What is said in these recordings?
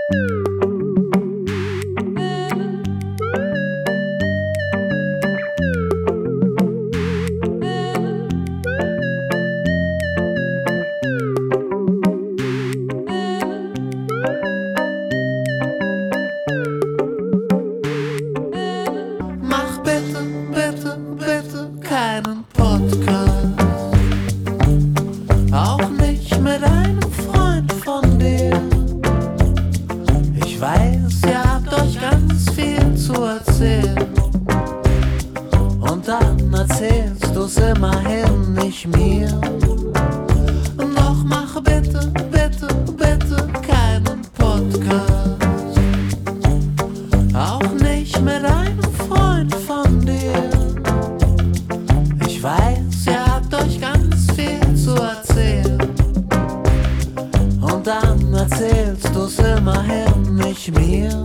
Mach bitte, bitte, bitte keinen Podcast. Auch nicht mit einem Freund von dir. Ich weiß, ihr habt euch ganz viel zu erzählen. Und dann erzählst du's immerhin nicht mir. Doch mach bitte, bitte, bitte keinen Podcast. Auch nicht mit einem Freund von dir. Ich weiß, ihr habt euch ganz viel zu erzählen. Und dann erzählst du's immerhin nicht mir.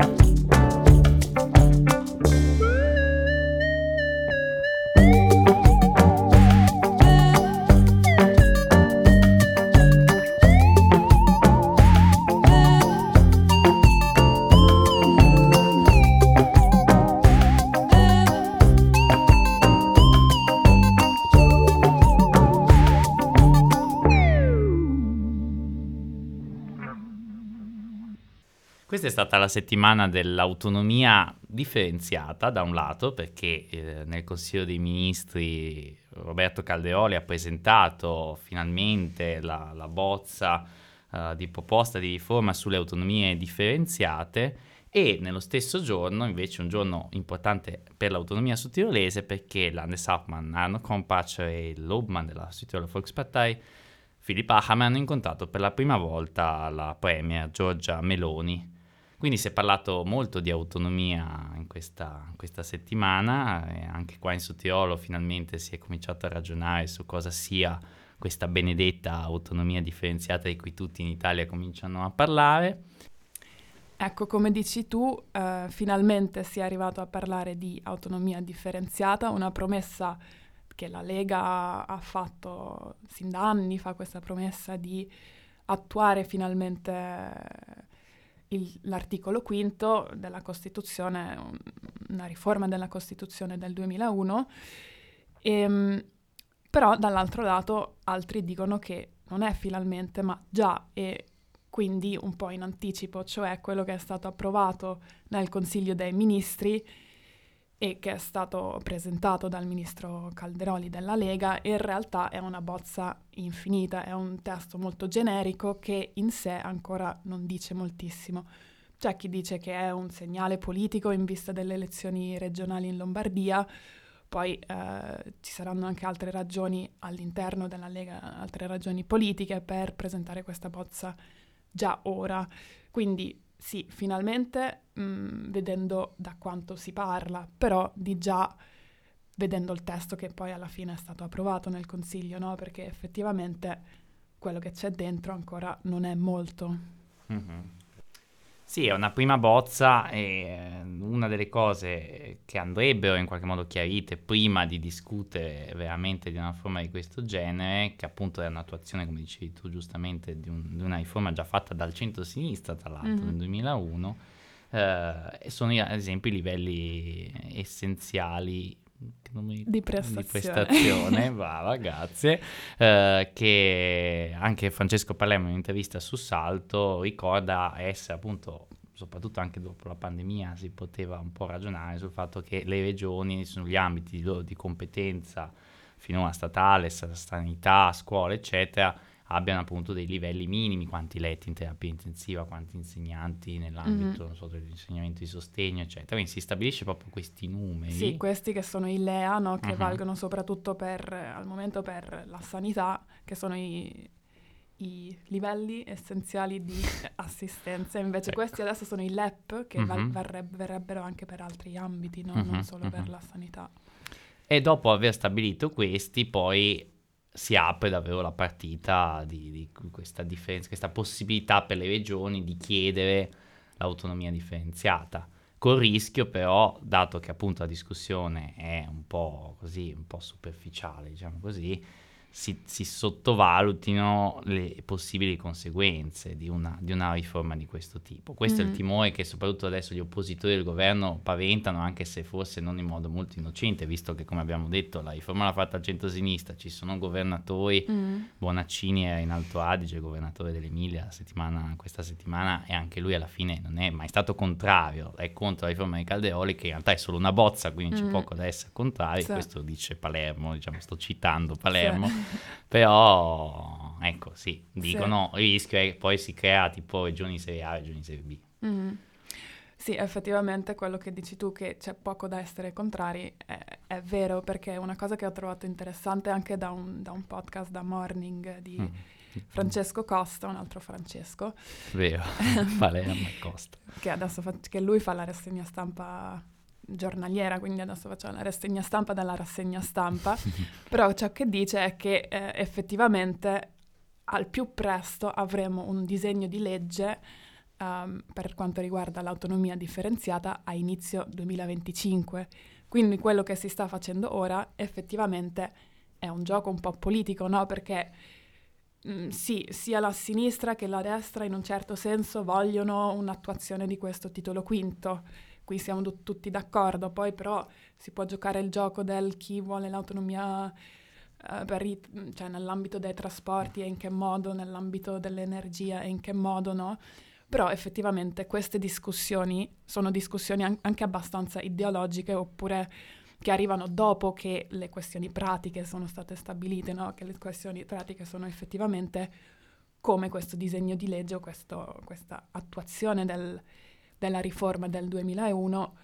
Questa è stata la settimana dell'autonomia differenziata, da un lato, perché nel Consiglio dei Ministri Roberto Calderoli ha presentato finalmente la bozza di proposta di riforma sulle autonomie differenziate, e nello stesso giorno, invece, un giorno importante per l'autonomia sudtirolese, perché Landeshauptmann Arno Kompatsch e l'Obmann della Südtiroler Volkspartei Philipp Hamann hanno incontrato per la prima volta la premier Giorgia Meloni. Quindi si è parlato molto di autonomia in questa settimana, e anche qua in Sudtirolo finalmente si è cominciato a ragionare su cosa sia questa benedetta autonomia differenziata di cui tutti in Italia cominciano a parlare. Ecco, come dici tu, finalmente si è arrivato a parlare di autonomia differenziata, una promessa che la Lega ha fatto sin da anni, fa questa promessa di attuare finalmente l'articolo quinto della Costituzione, una riforma della Costituzione del 2001, però dall'altro lato altri dicono che non è finalmente, ma già, e quindi un po' in anticipo, cioè quello che è stato approvato nel Consiglio dei Ministri e che è stato presentato dal ministro Calderoli della Lega, in realtà è una bozza infinita, è un testo molto generico che in sé ancora non dice moltissimo. C'è chi dice che è un segnale politico in vista delle elezioni regionali in Lombardia, poi ci saranno anche altre ragioni all'interno della Lega, altre ragioni politiche per presentare questa bozza già ora. Quindi sì, finalmente vedendo da quanto si parla, però di già vedendo il testo che poi alla fine è stato approvato nel Consiglio, no? Perché effettivamente quello che c'è dentro ancora non è molto. Mm-hmm. Sì, è una prima bozza, e una delle cose che andrebbero in qualche modo chiarite prima di discutere veramente di una riforma di questo genere, che appunto è un'attuazione, come dicevi tu giustamente, di una riforma già fatta dal centro-sinistra, tra l'altro, nel 2001, sono ad esempio i livelli essenziali di prestazione, brava, grazie, che anche Francesco Palermo in un'intervista su Salto ricorda essere appunto, soprattutto anche dopo la pandemia, si poteva un po' ragionare sul fatto che le regioni, sugli ambiti di competenza finora statale, sanità, scuola, eccetera, abbiano appunto dei livelli minimi, quanti letti in terapia intensiva, quanti insegnanti nell'ambito non so, dell'insegnamento di sostegno, eccetera. Quindi si stabilisce proprio questi numeri. Sì, questi che sono i LEA, no? Che valgono soprattutto al momento per la sanità, che sono i livelli essenziali di assistenza. Invece questi adesso sono i LEP, che verrebbero anche per altri ambiti, no? Non solo per la sanità. E dopo aver stabilito questi, poi si apre davvero la partita di questa differenza, questa possibilità per le regioni di chiedere l'autonomia differenziata, col rischio però, dato che appunto la discussione è un po' così, un po' superficiale, diciamo così, si sottovalutino le possibili conseguenze di una riforma di questo tipo. Questo è il timore che soprattutto adesso gli oppositori del governo paventano, anche se forse non in modo molto innocente, visto che, come abbiamo detto, la riforma l'ha fatta il centro-sinistra, ci sono governatori, Bonaccini era in Alto Adige, il governatore dell'Emilia questa settimana, e anche lui alla fine non è mai stato contrario, è contro la riforma di Calderoli, che in realtà è solo una bozza, quindi c'è poco da essere contrari, Sì. questo dice Palermo, diciamo, sto citando Palermo. Sì. Però, ecco, sì, dicono il rischio è che poi si crea tipo regioni serie A e regioni serie B. Sì, effettivamente quello che dici tu, che c'è poco da essere contrari, è vero, perché è una cosa che ho trovato interessante anche da un podcast, da Morning, di Francesco Costa, un altro Francesco. Vero, Palermo e Costa. Che adesso che lui fa la rassegna stampa giornaliera, quindi adesso facciamo la rassegna stampa dalla rassegna stampa, però ciò che dice è che effettivamente al più presto avremo un disegno di legge per quanto riguarda l'autonomia differenziata a inizio 2025, quindi quello che si sta facendo ora effettivamente è un gioco un po' politico, no? Perché sì, sia la sinistra che la destra in un certo senso vogliono un'attuazione di questo titolo quinto. Qui siamo tutti d'accordo, poi però si può giocare il gioco del chi vuole l'autonomia cioè nell'ambito dei trasporti e in che modo, nell'ambito dell'energia e in che modo, no? Però effettivamente queste discussioni sono discussioni anche abbastanza ideologiche, oppure che arrivano dopo che le questioni pratiche sono state stabilite, no? Che le questioni pratiche sono effettivamente come questo disegno di legge o questa attuazione della riforma del 2001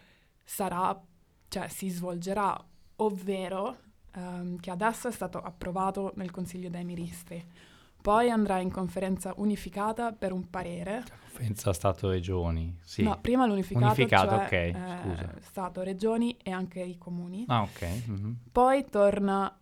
si svolgerà, ovvero che adesso è stato approvato nel Consiglio dei Ministri, poi andrà in conferenza unificata per un parere. Conferenza Stato-Regioni, sì. No, prima l'unificato, cioè, ok, scusa. Stato, Regioni e anche i comuni. Ah, ok. Mm-hmm. Poi torna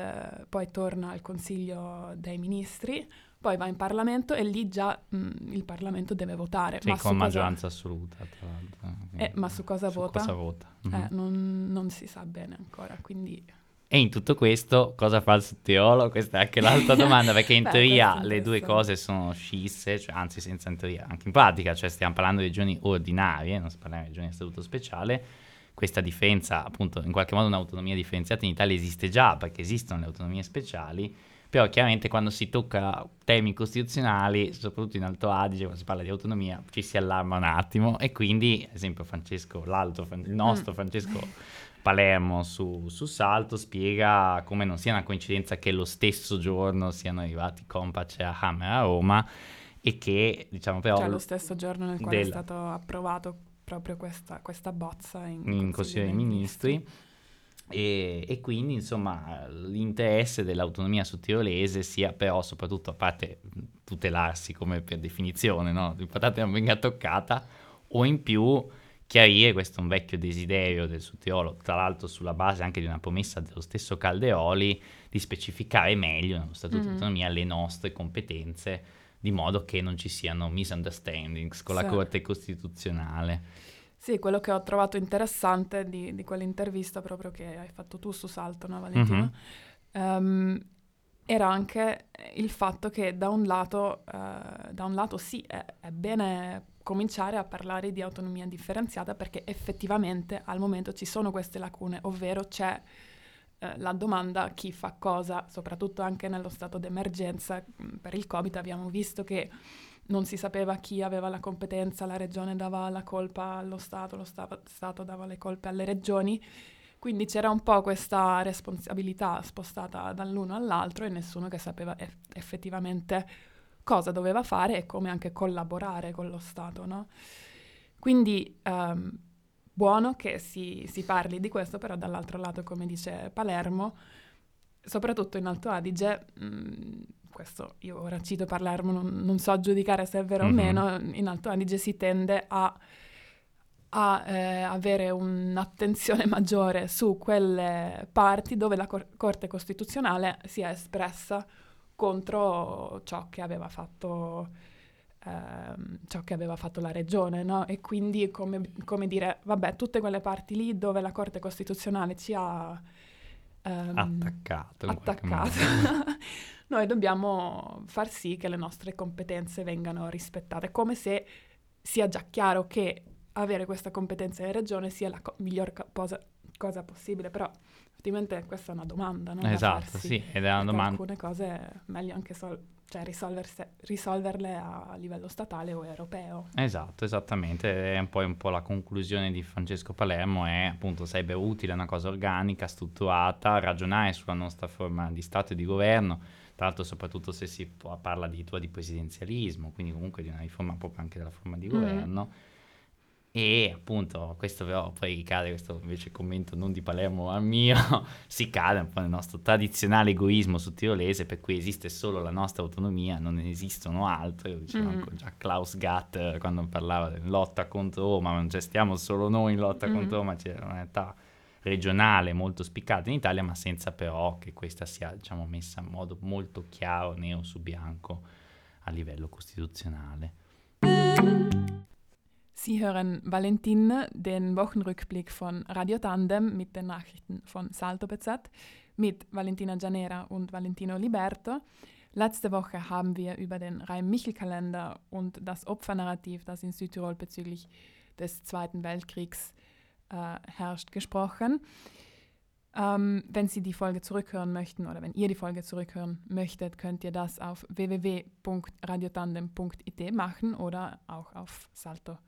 al Consiglio dei Ministri, poi va in Parlamento e lì già il Parlamento deve votare. Sì, con maggioranza assoluta, tra l'altro. Ma su cosa vota? Cosa vota? Mm-hmm. Non si sa bene ancora, quindi... E in tutto questo cosa fa il sottiolo? Questa è anche l'altra domanda, perché in teoria le due cose sono scisse, cioè, anzi senza in teoria, anche in pratica, cioè stiamo parlando di regioni ordinarie, non si parla di regioni a statuto speciale. Questa differenza, appunto, in qualche modo un'autonomia differenziata in Italia esiste già, perché esistono le autonomie speciali, però chiaramente quando si tocca temi costituzionali, soprattutto in Alto Adige, quando si parla di autonomia, ci si allarma un attimo, e quindi, ad esempio, il nostro Francesco Palermo su Salto spiega come non sia una coincidenza che lo stesso giorno siano arrivati Kompač e Hammer a Roma, e che, diciamo, però... Cioè lo stesso giorno nel quale è stato approvato proprio questa bozza in Consiglio dei Ministri. E quindi, insomma, l'interesse dell'autonomia sudtirolese sia però, soprattutto, a parte tutelarsi come per definizione, no? L'importante non venga toccata, o in più chiarire, questo è un vecchio desiderio del Sudtirolo, tra l'altro sulla base anche di una promessa dello stesso Calderoli, di specificare meglio nello Statuto di Autonomia le nostre competenze, di modo che non ci siano misunderstandings con la Corte Costituzionale. Sì, quello che ho trovato interessante di quell'intervista proprio che hai fatto tu su Salto, no, Valentino? Era anche il fatto che da un lato sì, è bene cominciare a parlare di autonomia differenziata, perché effettivamente al momento ci sono queste lacune, ovvero c'è la domanda chi fa cosa, soprattutto anche nello stato d'emergenza per il Covid. Abbiamo visto che non si sapeva chi aveva la competenza, la regione dava la colpa allo Stato, lo Stato dava le colpe alle regioni, quindi c'era un po' questa responsabilità spostata dall'uno all'altro e nessuno che sapeva effettivamente cosa doveva fare e come anche collaborare con lo Stato, no? Quindi buono che si parli di questo, però dall'altro lato, come dice Palermo, soprattutto in Alto Adige, questo io ora cito Palermo, non so giudicare se è vero o meno, in Alto Adige si tende a avere un'attenzione maggiore su quelle parti dove la Corte Costituzionale si è espressa contro ciò che aveva fatto la regione, no? E quindi come dire, vabbè, tutte quelle parti lì dove la Corte Costituzionale ci ha attaccato. In qualche attaccato. modo. Noi dobbiamo far sì che le nostre competenze vengano rispettate, come se sia già chiaro che avere questa competenza in regione sia la miglior cosa possibile, però effettivamente questa è una domanda, no? Da Esatto, farsi, sì, ed è una perché domanda. alcune cose è meglio anche risolverle a livello statale o europeo. Esatto, esattamente, è un po' la conclusione di Francesco Palermo, è appunto sarebbe utile una cosa organica, strutturata, ragionare sulla nostra forma di Stato e di governo, tra l'altro soprattutto se si parla addirittura di presidenzialismo, quindi comunque di una riforma proprio anche della forma di governo. E appunto questo però poi ricade, questo invece commento non di Palermo ma mio, si cade un po' nel nostro tradizionale egoismo sudtirolese per cui esiste solo la nostra autonomia, non ne esistono altre, lo diceva anche già Klaus Gatter quando parlava della lotta contro Roma, ma non c'è stiamo solo noi in lotta contro Roma, c'è una realtà regionale molto spiccata in Italia, ma senza però che questa sia, diciamo, messa in modo molto chiaro, nero su bianco a livello costituzionale. Sie hören Valentin, den Wochenrückblick von Radio Tandem mit den Nachrichten von Salto BZ mit Valentina Gianera und Valentino Liberto. Letzte Woche haben wir über den Rhein-Michel-Kalender und das Opfernarrativ, das in Südtirol bezüglich des Zweiten Weltkriegs herrscht, gesprochen. Wenn Sie die Folge zurückhören möchten oder wenn ihr die Folge zurückhören möchtet, könnt ihr das auf www.radiotandem.it machen oder auch auf salto.bz.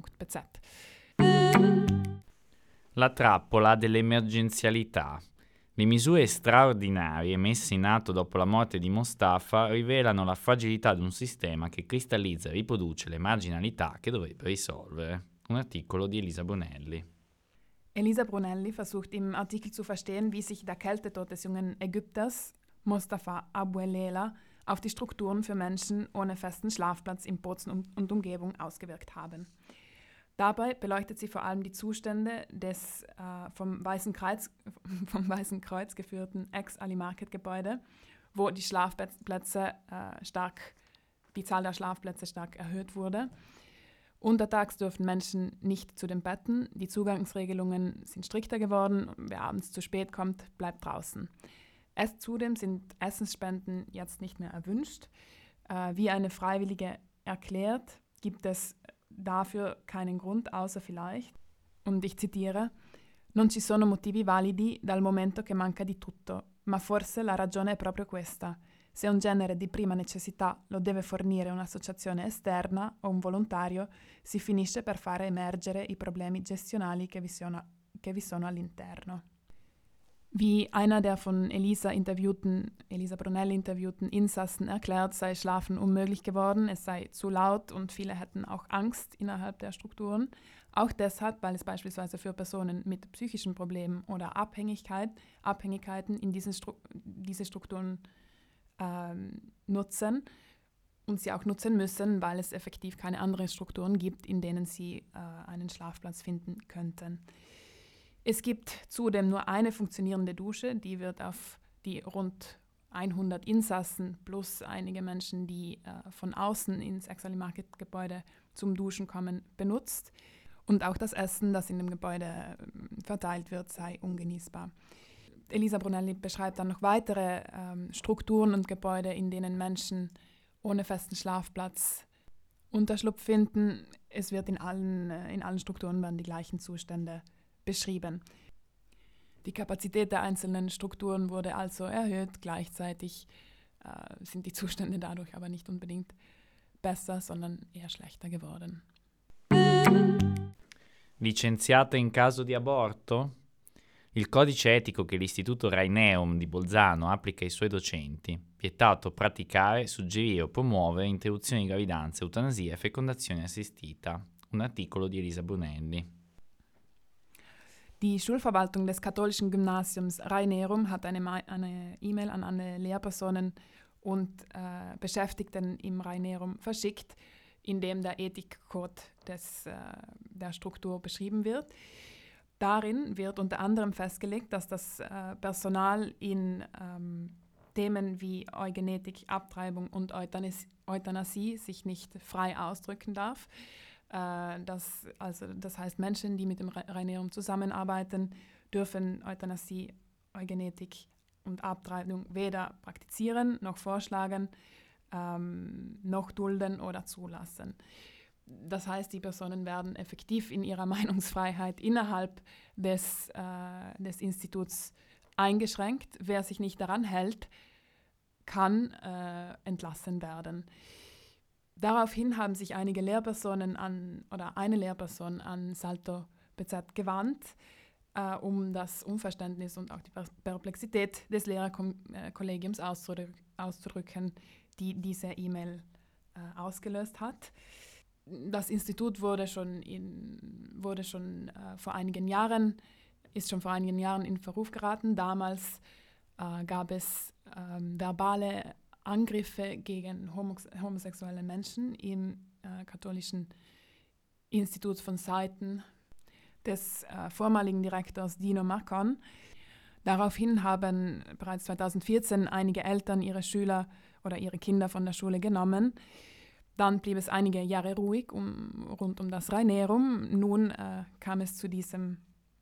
La trappola dell'emergenzialità. Le misure straordinarie messe in atto dopo la morte di Mostafa rivelano la fragilità di un sistema che cristallizza e riproduce le marginalità che dovrebbe risolvere. Un articolo di Elisa Brunelli. Elisa Brunelli versucht im Artikel zu verstehen, wie sich der Kältetod des jungen Ägypters Mostafa Abuelela auf die Strukturen für Menschen ohne festen Schlafplatz in Bozen und Umgebung ausgewirkt haben. Dabei beleuchtet sie vor allem die Zustände des vom Weißen Kreuz geführten Ex-Ali-Market-Gebäude, wo die Zahl der Schlafplätze stark erhöht wurde. Untertags dürfen Menschen nicht zu den Betten, die Zugangsregelungen sind strikter geworden, wer abends zu spät kommt, bleibt draußen. Zudem sind Essensspenden jetzt nicht mehr erwünscht. Wie eine Freiwillige erklärt, gibt es dafür keinen Grund, außer vielleicht, und ich zitiere, «Non ci sono motivi validi dal momento che manca di tutto, ma forse la ragione è proprio questa. Se un genere di prima necessità lo deve fornire un'associazione esterna o un volontario, si finisce per fare emergere i problemi gestionali che vi sono all'interno». Wie einer der von Elisa Brunelli interviewten Insassen erklärt, sei Schlafen unmöglich geworden, es sei zu laut und viele hätten auch Angst innerhalb der Strukturen. Auch deshalb, weil es beispielsweise für Personen mit psychischen Problemen oder Abhängigkeiten in diese Strukturen nutzen und sie auch nutzen müssen, weil es effektiv keine anderen Strukturen gibt, in denen sie einen Schlafplatz finden könnten. Es gibt zudem nur eine funktionierende Dusche, die wird auf die rund 100 Insassen plus einige Menschen, die von außen ins Ex-Ali-Market-Gebäude zum Duschen kommen, benutzt. Und auch das Essen, das in dem Gebäude verteilt wird, sei ungenießbar. Elisa Brunelli beschreibt dann noch weitere Strukturen und Gebäude, in denen Menschen ohne festen Schlafplatz Unterschlupf finden. Es wird in allen Strukturen werden die gleichen Zustände beschrieben. Die Kapazität der einzelnen Strukturen wurde also erhöht, gleichzeitig sind die Zustände dadurch aber nicht unbedingt besser, sondern eher schlechter geworden. Licenziata in caso di aborto? Il codice etico che l'Istituto Raineum di Bolzano applica ai suoi docenti, vietato praticare, suggerire o promuovere interruzioni di gravidanza, eutanasia e fecondazione assistita. Un articolo di Elisa Brunelli. Die Schulverwaltung des katholischen Gymnasiums Raineum hat eine E-Mail an alle Lehrpersonen und Beschäftigten im Raineum verschickt, in dem der Ethikcode der Struktur beschrieben wird. Darin wird unter anderem festgelegt, dass das Personal in Themen wie Eugenetik, Abtreibung und Euthanasie sich nicht frei ausdrücken darf. Das heißt, Menschen, die mit dem Raineum zusammenarbeiten, dürfen Euthanasie Eugenetik und Abtreibung weder praktizieren, noch vorschlagen, noch dulden oder zulassen. Das heißt, die Personen werden effektiv in ihrer Meinungsfreiheit innerhalb des Instituts eingeschränkt. Wer sich nicht daran hält, kann entlassen werden. Daraufhin haben sich einige Lehrpersonen eine Lehrperson an Salto BZ gewandt, um das Unverständnis und auch die Perplexität des Lehrerkollegiums auszudrücken, die diese E-Mail ausgelöst hat. Das Institut ist schon vor einigen Jahren in Verruf geraten. Damals gab es verbale Angriffe gegen homosexuelle Menschen im katholischen Institut von Seiten des vormaligen Direktors Dino Marcon. Daraufhin haben bereits 2014 einige Eltern ihre Schüler oder ihre Kinder von der Schule genommen. Dann blieb es einige Jahre ruhig rund um das Rainerum. Nun kam es zu dieser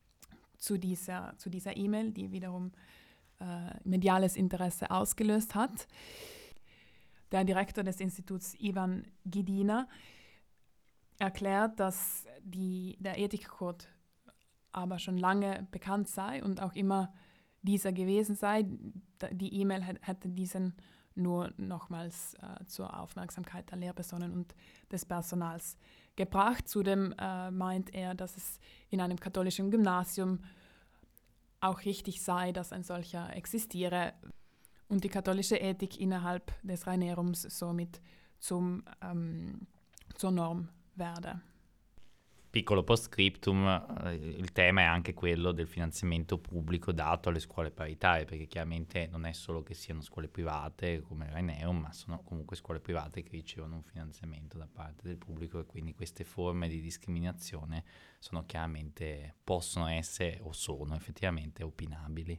E-Mail, die wiederum mediales Interesse ausgelöst hat. Der Direktor des Instituts, Ivan Gidina, erklärt, dass der Ethikcode aber schon lange bekannt sei und auch immer dieser gewesen sei. Die E-Mail hätte diesen nur nochmals zur Aufmerksamkeit der Lehrpersonen und des Personals gebracht. Zudem meint er, dass es in einem katholischen Gymnasium auch richtig sei, dass ein solcher existiere und die katholische Ethik innerhalb des Rainerums somit zur Norm verde. Piccolo post-scriptum, il tema è anche quello del finanziamento pubblico dato alle scuole paritarie, perché chiaramente non è solo che siano scuole private come Raineum, ma sono comunque scuole private che ricevono un finanziamento da parte del pubblico e quindi queste forme di discriminazione sono chiaramente, possono essere o sono effettivamente opinabili.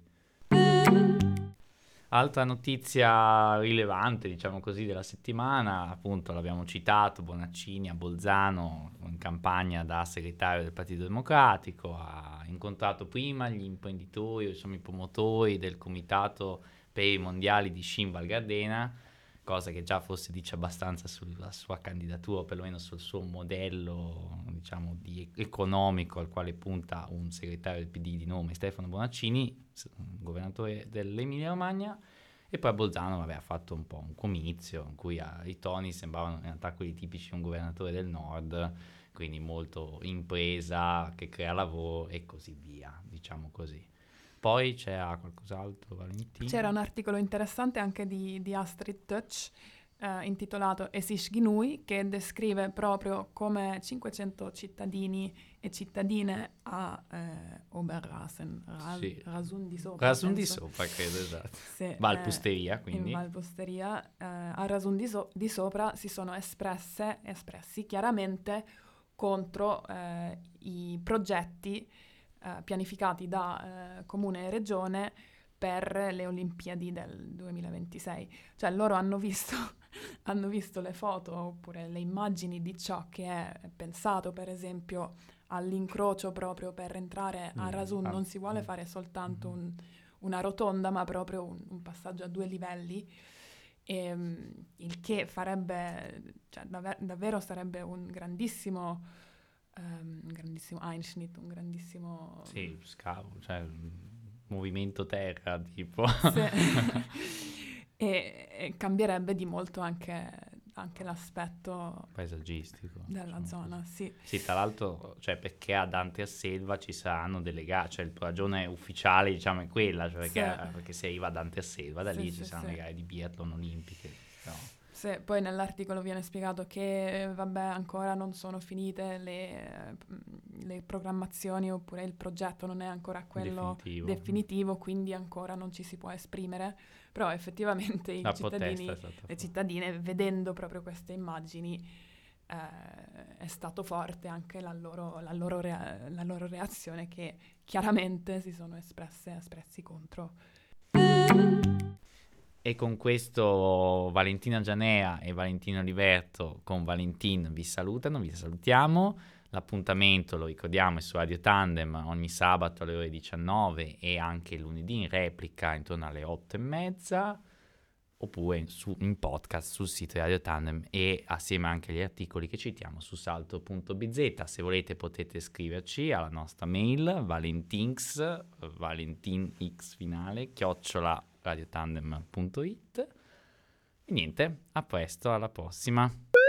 Altra notizia rilevante, diciamo così, della settimana, appunto l'abbiamo citato, Bonaccini a Bolzano in campagna da segretario del Partito Democratico, ha incontrato prima gli imprenditori, insomma i promotori del comitato per i mondiali di sci in Val Gardena, cosa che già forse dice abbastanza sulla sua candidatura, o perlomeno sul suo modello, diciamo, economico al quale punta un segretario del PD di nome Stefano Bonaccini, governatore dell'Emilia Romagna. E poi a Bolzano ha fatto un po' un comizio in cui i toni sembravano in realtà quelli tipici di un governatore del nord, quindi molto impresa che crea lavoro e così via, diciamo così. Poi c'era qualcos'altro, Valentina? C'era un articolo interessante anche di Astrid Tötsch, intitolato Es ist genug, che descrive proprio come 500 cittadini e cittadine a Oberrasen, Rasun di Sopra. Rasun di Sopra, credo, esatto. Sì, Valpusteria, quindi. In Valpusteria, a Rasun di Sopra si sono espressi chiaramente contro i progetti pianificati da Comune e Regione per le Olimpiadi del 2026. Cioè loro hanno visto le foto oppure le immagini di ciò che è pensato, per esempio, all'incrocio proprio per entrare a Rasun. Non si vuole fare soltanto una rotonda, ma proprio un passaggio a 2 livelli, il che farebbe, cioè, davvero sarebbe un grandissimo Einschnitt, un grandissimo... Sì, scavo, cioè movimento terra, tipo. Sì. e cambierebbe di molto anche l'aspetto paesaggistico della zona, così. Sì. Sì, tra l'altro, cioè, perché ad Anterselva ci saranno delle gare, cioè la ragione ufficiale, diciamo, è quella, cioè perché si arriva ad Anterselva, da lì ci saranno le gare di biathlon olimpiche, no? Sì, poi nell'articolo viene spiegato che, ancora non sono finite le programmazioni, oppure il progetto non è ancora quello definitivo, quindi ancora non ci si può esprimere, però effettivamente i cittadini e le cittadine, vedendo proprio queste immagini, è stato forte anche la loro reazione, che chiaramente si sono espressi contro. E con questo Valentina Gianea e Valentino Oliverto con Valentin vi salutiamo. L'appuntamento, lo ricordiamo, è su Radio Tandem ogni sabato alle ore 19 e anche lunedì in replica intorno alle 8:30, oppure in podcast sul sito di Radio Tandem e assieme anche agli articoli che citiamo su salto.bz. Se volete potete scriverci alla nostra mail valentinx finale @radiotandem.it. E niente, a presto, alla prossima.